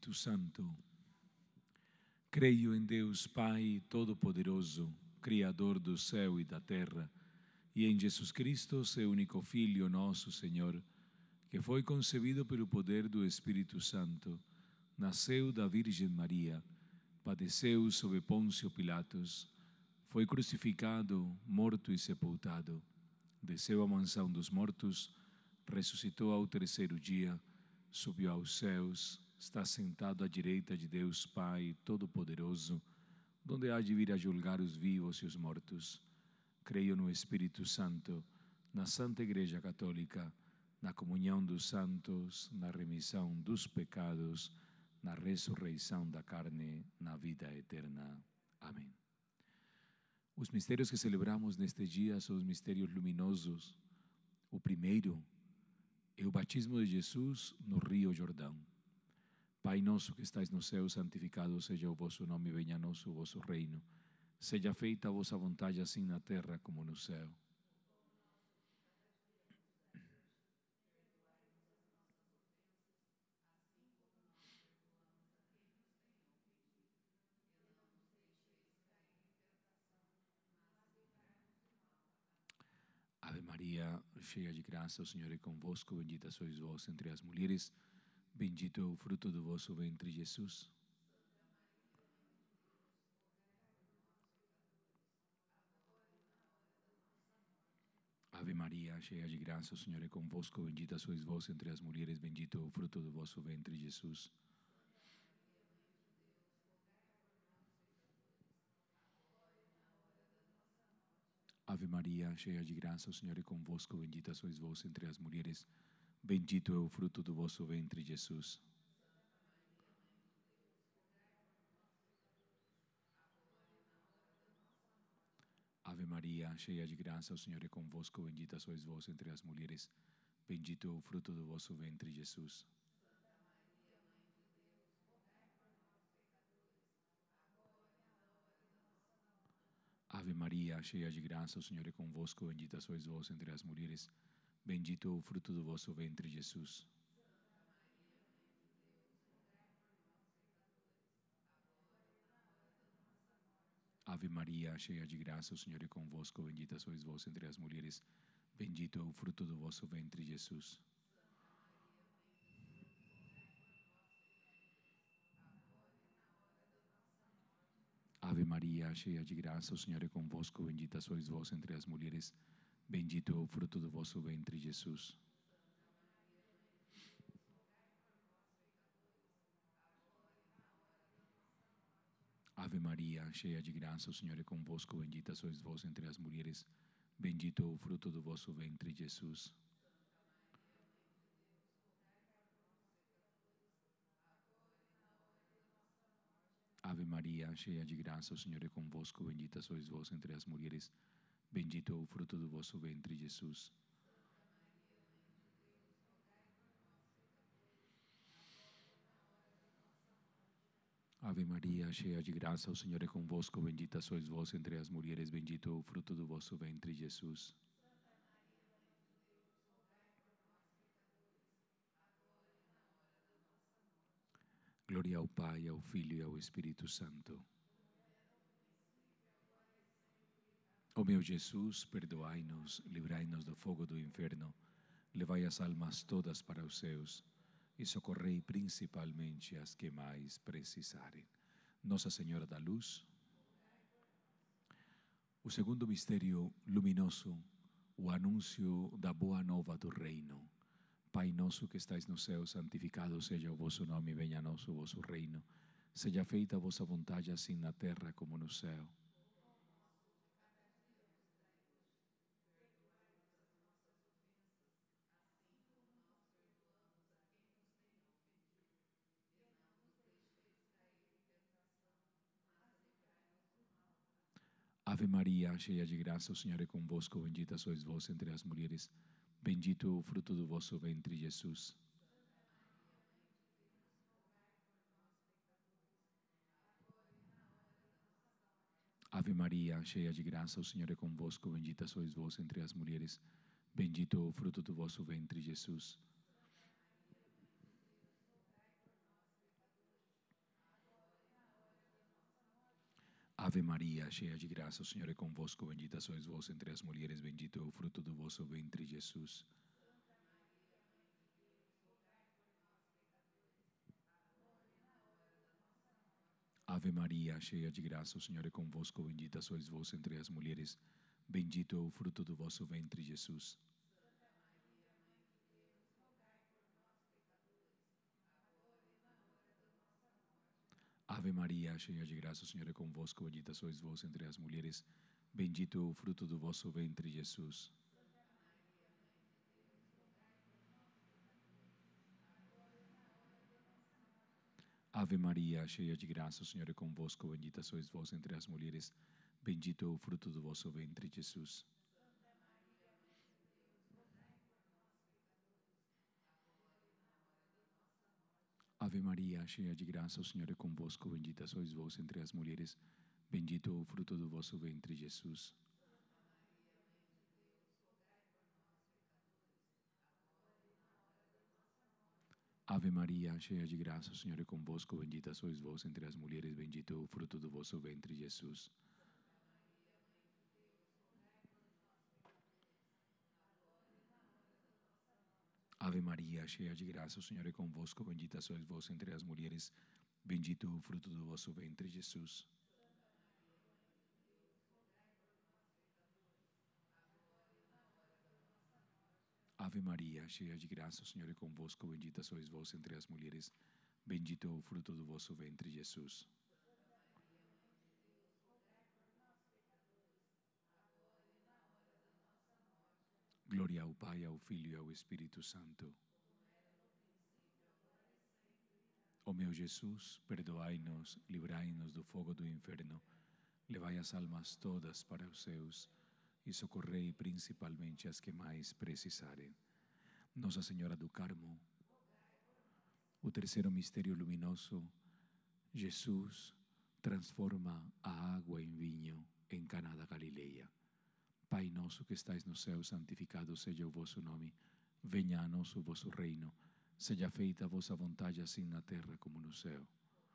Espírito Santo. Creio em Deus Pai Todo-Poderoso, Criador do céu e da terra, e em Jesus Cristo, seu único Filho, nosso Senhor, que foi concebido pelo poder do Espírito Santo, nasceu da Virgem Maria, padeceu sob Pôncio Pilatos, foi crucificado, morto e sepultado, desceu à mansão dos mortos, ressuscitou ao terceiro dia, subiu aos céus, está sentado à direita de Deus Pai Todo-Poderoso, donde há de vir a julgar os vivos e os mortos. Creio no Espírito Santo, na Santa Igreja Católica, na comunhão dos santos, na remissão dos pecados, na ressurreição da carne, na vida eterna. Amém. Os mistérios que celebramos neste dia são os mistérios luminosos. O primeiro é o batismo de Jesus no Rio Jordão. Pai nosso que estais no céu, santificado seja o vosso nome, venha a nós o vosso reino. Seja feita a vossa vontade, assim na terra como no céu. Ave Maria, cheia de graça, o Senhor é convosco, bendita sois vós entre as mulheres, bendito é o fruto do vosso ventre, Jesus. Ave Maria, cheia de graça, o Senhor é convosco, bendita sois vós entre as mulheres, bendito é o fruto do vosso ventre, Jesus. Ave Maria, cheia de graça, o Senhor é convosco, bendita sois vós entre as mulheres, bendito é o fruto do vosso ventre, Jesus. Ave Maria, cheia de graça, o Senhor é convosco, bendita sois vós entre as mulheres, bendito é o fruto do vosso ventre, Jesus. Ave Maria, cheia de graça, o Senhor é convosco, bendita sois vós entre as mulheres, bendito é o fruto do vosso ventre, Jesus. Ave Maria, cheia de graça, o Senhor é convosco, bendita sois vós entre as mulheres, bendito é o fruto do vosso ventre, Jesus. Ave Maria, cheia de graça, o Senhor é convosco, bendita sois vós entre as mulheres, bendito é o fruto do vosso ventre, Jesus. Ave Maria, cheia de graça, o Senhor é convosco, bendita sois vós entre as mulheres, bendito é o fruto do vosso ventre, Jesus. Ave Maria, cheia de graça, o Senhor é convosco, bendita sois vós entre as mulheres, bendito é o fruto do vosso ventre, Jesus. Ave Maria, cheia de graça, o Senhor é convosco, bendita sois vós entre as mulheres, bendito é o fruto do vosso ventre, Jesus. Glória ao Pai, ao Filho e ao Espírito Santo. Ó meu Jesus, perdoai-nos, livrai-nos do fogo do inferno, levai as almas todas para os céus e socorrei principalmente as que mais precisarem. Nossa Senhora da Luz. O segundo mistério luminoso, o anúncio da boa nova do reino. Pai nosso que estais no céu, santificado seja o vosso nome, venha a nós o vosso reino. Seja feita a vossa vontade, assim na terra como no céu. Ave Maria, cheia de graça, o Senhor é convosco, bendita sois vós entre as mulheres, bendito é o fruto do vosso ventre, Jesus. Ave Maria, cheia de graça, o Senhor é convosco, bendita sois vós entre as mulheres, bendito é o fruto do vosso ventre, Jesus. Ave Maria, cheia de graça, o Senhor é convosco, bendita sois vós entre as mulheres, bendito é o fruto do vosso ventre, Jesus. Ave Maria, cheia de graça, o Senhor é convosco, bendita sois vós entre as mulheres, bendito é o fruto do vosso ventre, Jesus. Ave Maria, cheia de graça, o Senhor é convosco, bendita sois vós entre as mulheres, bendito é o fruto do vosso ventre, Jesus. Ave Maria, cheia de graça, o Senhor é convosco, bendita sois vós entre as mulheres, bendito é o fruto do vosso ventre, Jesus. Ave Maria, cheia de graça, o Senhor é convosco, bendita sois vós entre as mulheres, bendito é o fruto do vosso ventre, Jesus. Ave Maria, cheia de graça, o Senhor é convosco, bendita sois vós entre as mulheres, bendito é o fruto do vosso ventre, Jesus. Ave Maria, cheia de graça, o Senhor é convosco, bendita sois vós entre as mulheres, bendito é o fruto do vosso ventre, Jesus. Ave Maria, cheia de graça, o Senhor é convosco, bendita sois vós entre as mulheres, bendito é o fruto do vosso ventre, Jesus. Glória ao Pai, ao Filho e ao Espírito Santo. Ó meu Jesus, perdoai-nos, livrai-nos do fogo do inferno, levai as almas todas para os céus e socorrei principalmente as que mais precisarem. Nossa Senhora do Carmo, o terceiro mistério luminoso, Jesus transforma a água em vinho em Caná da Galileia. Pai nosso que estais no céu, santificado seja o vosso nome. Venha a nós o vosso reino. Seja feita a vossa vontade, assim na terra como no céu.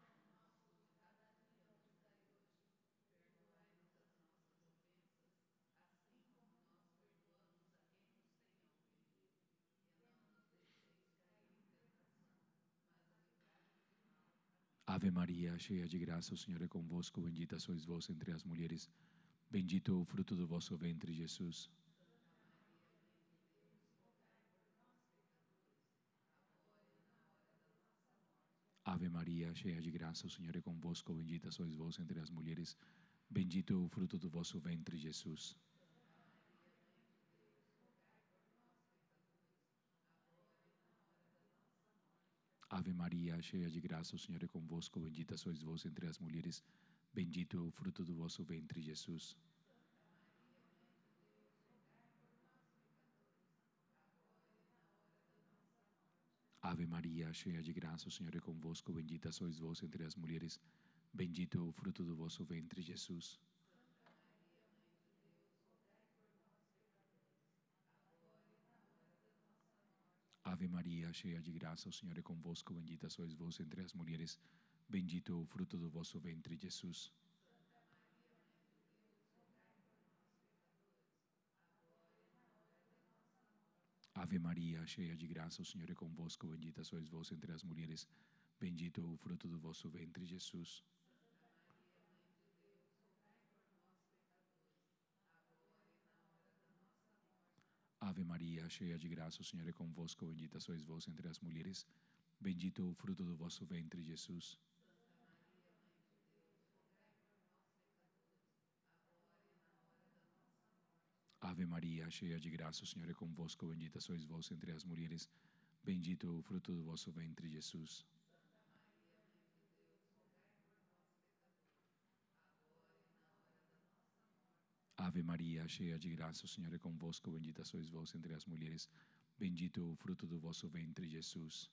Ave Maria, cheia de graça, o Senhor é convosco, bendita sois vós entre as mulheres, bendito é o fruto do vosso ventre, Jesus. Ave Maria, cheia de graça, o Senhor é convosco, bendita sois vós entre as mulheres, bendito é o fruto do vosso ventre, Jesus. Ave Maria, cheia de graça, o Senhor é convosco, bendita sois vós entre as mulheres, bendito é o fruto do vosso ventre, Jesus. Ave Maria, cheia de graça, o Senhor é convosco, bendita sois vós entre as mulheres, bendito é o fruto do vosso ventre, Jesus. Ave Maria, cheia de graça, o Senhor é convosco, bendita sois vós entre as mulheres, bendito é o fruto do vosso ventre, Jesus. Ave Maria, cheia de graça, o Senhor é convosco, bendita sois vós entre as mulheres, bendito é o fruto do vosso ventre, Jesus. Ave Maria, cheia de graça, o Senhor é convosco, bendita sois vós entre as mulheres, bendito é o fruto do vosso ventre, Jesus. Ave Maria, cheia de graça, o Senhor é convosco, bendita sois vós entre as mulheres, bendito é o fruto do vosso ventre, Jesus. Ave Maria, cheia de graça, o Senhor é convosco, bendita sois vós entre as mulheres, bendito é o fruto do vosso ventre, Jesus.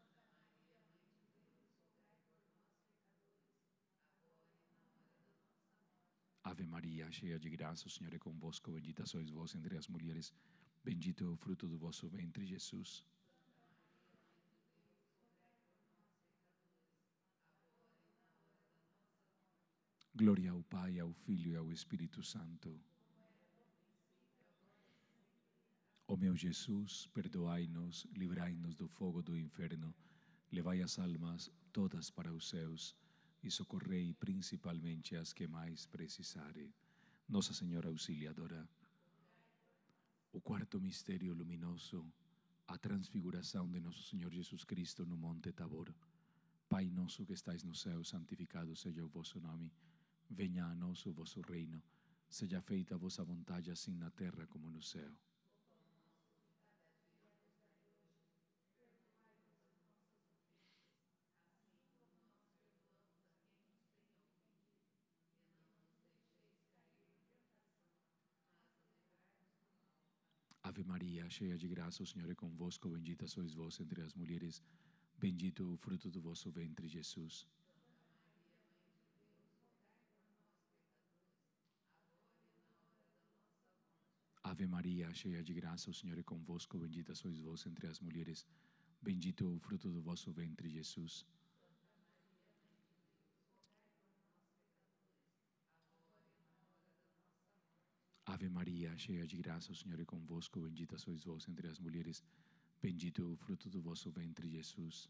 Ave Maria, cheia de graça, o Senhor é convosco, bendita sois vós entre as mulheres, bendito é o fruto do vosso ventre, Jesus. Glória ao Pai, ao Filho e ao Espírito Santo. Ó meu Jesus, perdoai-nos, livrai-nos do fogo do inferno, levai as almas todas para os céus e socorrei principalmente as que mais precisarem. Nossa Senhora Auxiliadora. O quarto mistério luminoso, a transfiguração de Nosso Senhor Jesus Cristo no Monte Tabor. Pai nosso que estais no céu, santificado seja o vosso nome. Venha a nós o vosso reino. Seja feita a vossa vontade, assim na terra como no céu. Ave Maria, cheia de graça, o Senhor é convosco. Bendita sois vós entre as mulheres. Bendito o fruto do vosso ventre, Jesus. Ave Maria, cheia de graça, o Senhor é convosco. Bendita sois vós entre as mulheres. Bendito o fruto do vosso ventre, Jesus. Ave Maria, cheia de graça, o Senhor é convosco. Bendita sois vós entre as mulheres. Bendito o fruto do vosso ventre, Jesus.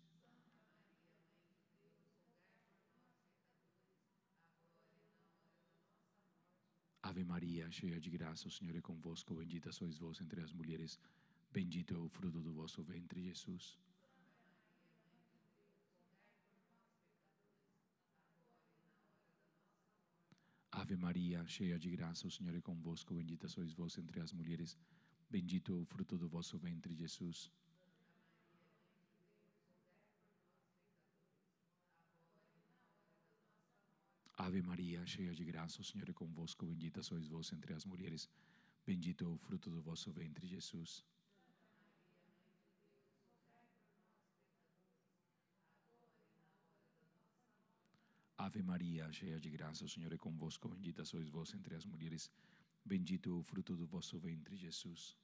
Ave Maria, cheia de graça, o Senhor é convosco. Bendita sois vós entre as mulheres. Bendito é o fruto do vosso ventre, Jesus. Ave Maria, cheia de graça, o Senhor é convosco. Bendita sois vós entre as mulheres. Bendito é o fruto do vosso ventre, Jesus. Ave Maria, cheia de graça, o Senhor é convosco. Bendita sois vós entre as mulheres. Bendito é o fruto do vosso ventre, Jesus. Ave Maria, cheia de graça, o Senhor é convosco. Bendita sois vós entre as mulheres. Bendito é o fruto do vosso ventre, Jesus.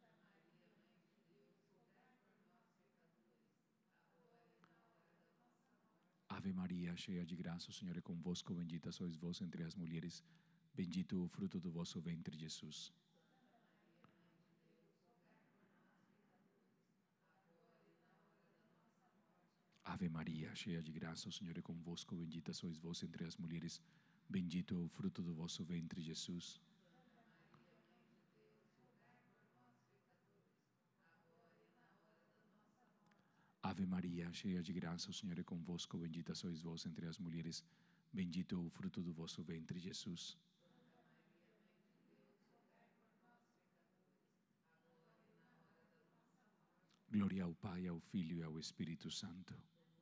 Ave Maria, cheia de graça, o Senhor é convosco. Bendita sois vós entre as mulheres. Bendito é o fruto do vosso ventre, Jesus. Ave Maria, cheia de graça, o Senhor é convosco. Bendita sois vós entre as mulheres. Bendito é o fruto do vosso ventre, Jesus. Ave Maria, cheia de graça, o Senhor é convosco. Bendita sois vós entre as mulheres. Bendito é o fruto do vosso ventre, Jesus. Glória ao Pai, ao Filho e ao Espírito Santo.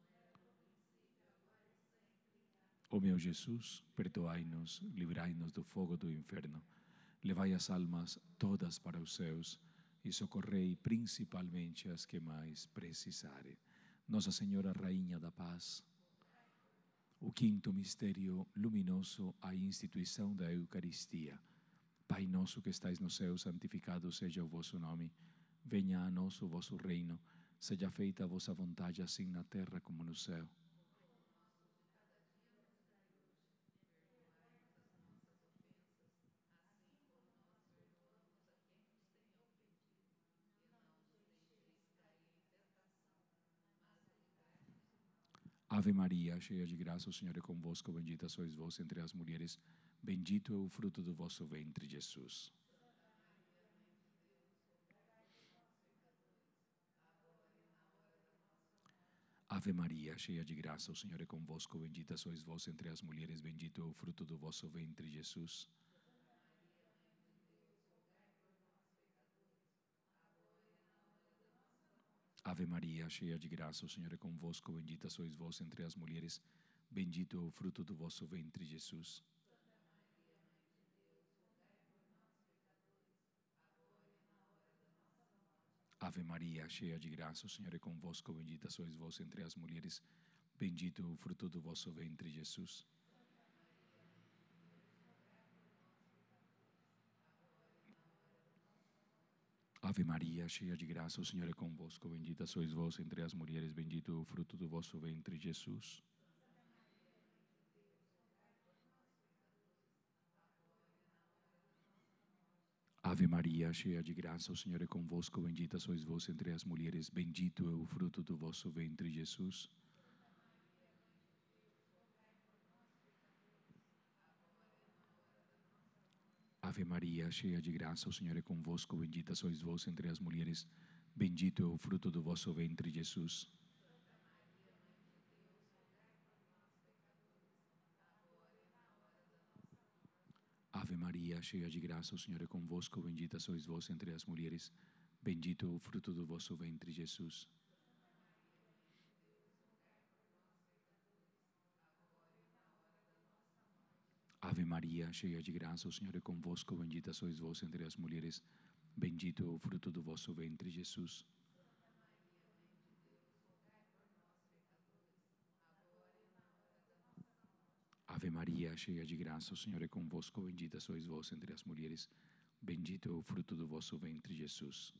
Ó meu Jesus, perdoai-nos, livrai-nos do fogo do inferno, levai as almas todas para os céus e socorrei principalmente as que mais precisarem. Nossa Senhora Rainha da Paz. O quinto mistério luminoso, a instituição da Eucaristia. Pai nosso que estais no céu, santificado seja o vosso nome. Venha a nós o vosso reino. Seja feita a vossa vontade, assim na terra como no céu. Ave Maria, cheia de graça, o Senhor é convosco. Bendita sois vós entre as mulheres. Bendito é o fruto do vosso ventre, Jesus. Ave Maria, cheia de graça, o Senhor é convosco. Bendita sois vós entre as mulheres. Bendito é o fruto do vosso ventre, Jesus. Ave Maria, cheia de graça, o Senhor é convosco. Bendita sois vós entre as mulheres. Bendito é o fruto do vosso ventre, Jesus. Ave Maria, cheia de graça, o Senhor é convosco. Bendita sois vós entre as mulheres. Bendito é o fruto do vosso ventre, Jesus. Ave Maria, cheia de graça, o Senhor é convosco. Bendita sois vós entre as mulheres. Bendito é o fruto do vosso ventre, Jesus. Ave Maria, cheia de graça, o Senhor é convosco, bendita sois vós entre as mulheres, bendito é o fruto do vosso ventre, Jesus. Ave Maria, cheia de graça, o Senhor é convosco, bendita sois vós entre as mulheres, bendito é o fruto do vosso ventre, Jesus. Ave Maria, cheia de graça, o Senhor é convosco, bendita sois vós entre as mulheres, bendito é o fruto do vosso ventre, Jesus. Ave Maria, cheia de graça, o Senhor é convosco, bendita sois vós entre as mulheres, bendito é o fruto do vosso ventre, Jesus. Ave Maria, cheia de graça, o Senhor é convosco, bendita sois vós entre as mulheres, bendito é o fruto do vosso ventre, Jesus.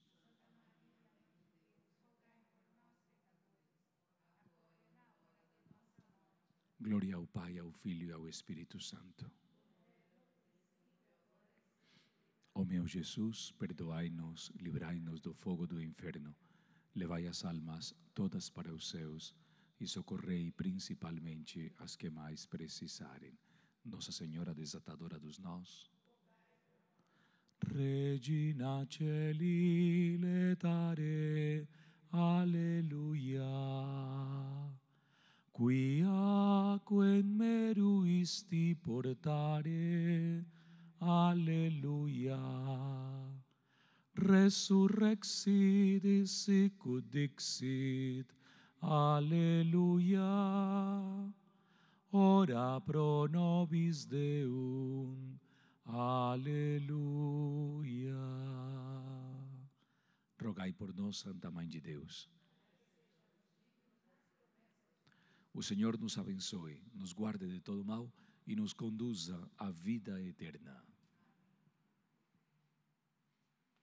Glória ao Pai, ao Filho e ao Espírito Santo. Ó meu Jesus, perdoai-nos, livrai-nos do fogo do inferno, levai as almas todas para os céus e socorrei principalmente as que mais precisarem. Nossa Senhora Desatadora dos Nós. Regina Celi letare, alleluia. Quiaque meruisti portare, alleluia. Resurrexit sicut dixit, alleluia. Ora pro nobis Deum, aleluia. Rogai por nós, Santa Mãe de Deus. O Senhor nos abençoe, nos guarde de todo mal e nos conduza à vida eterna.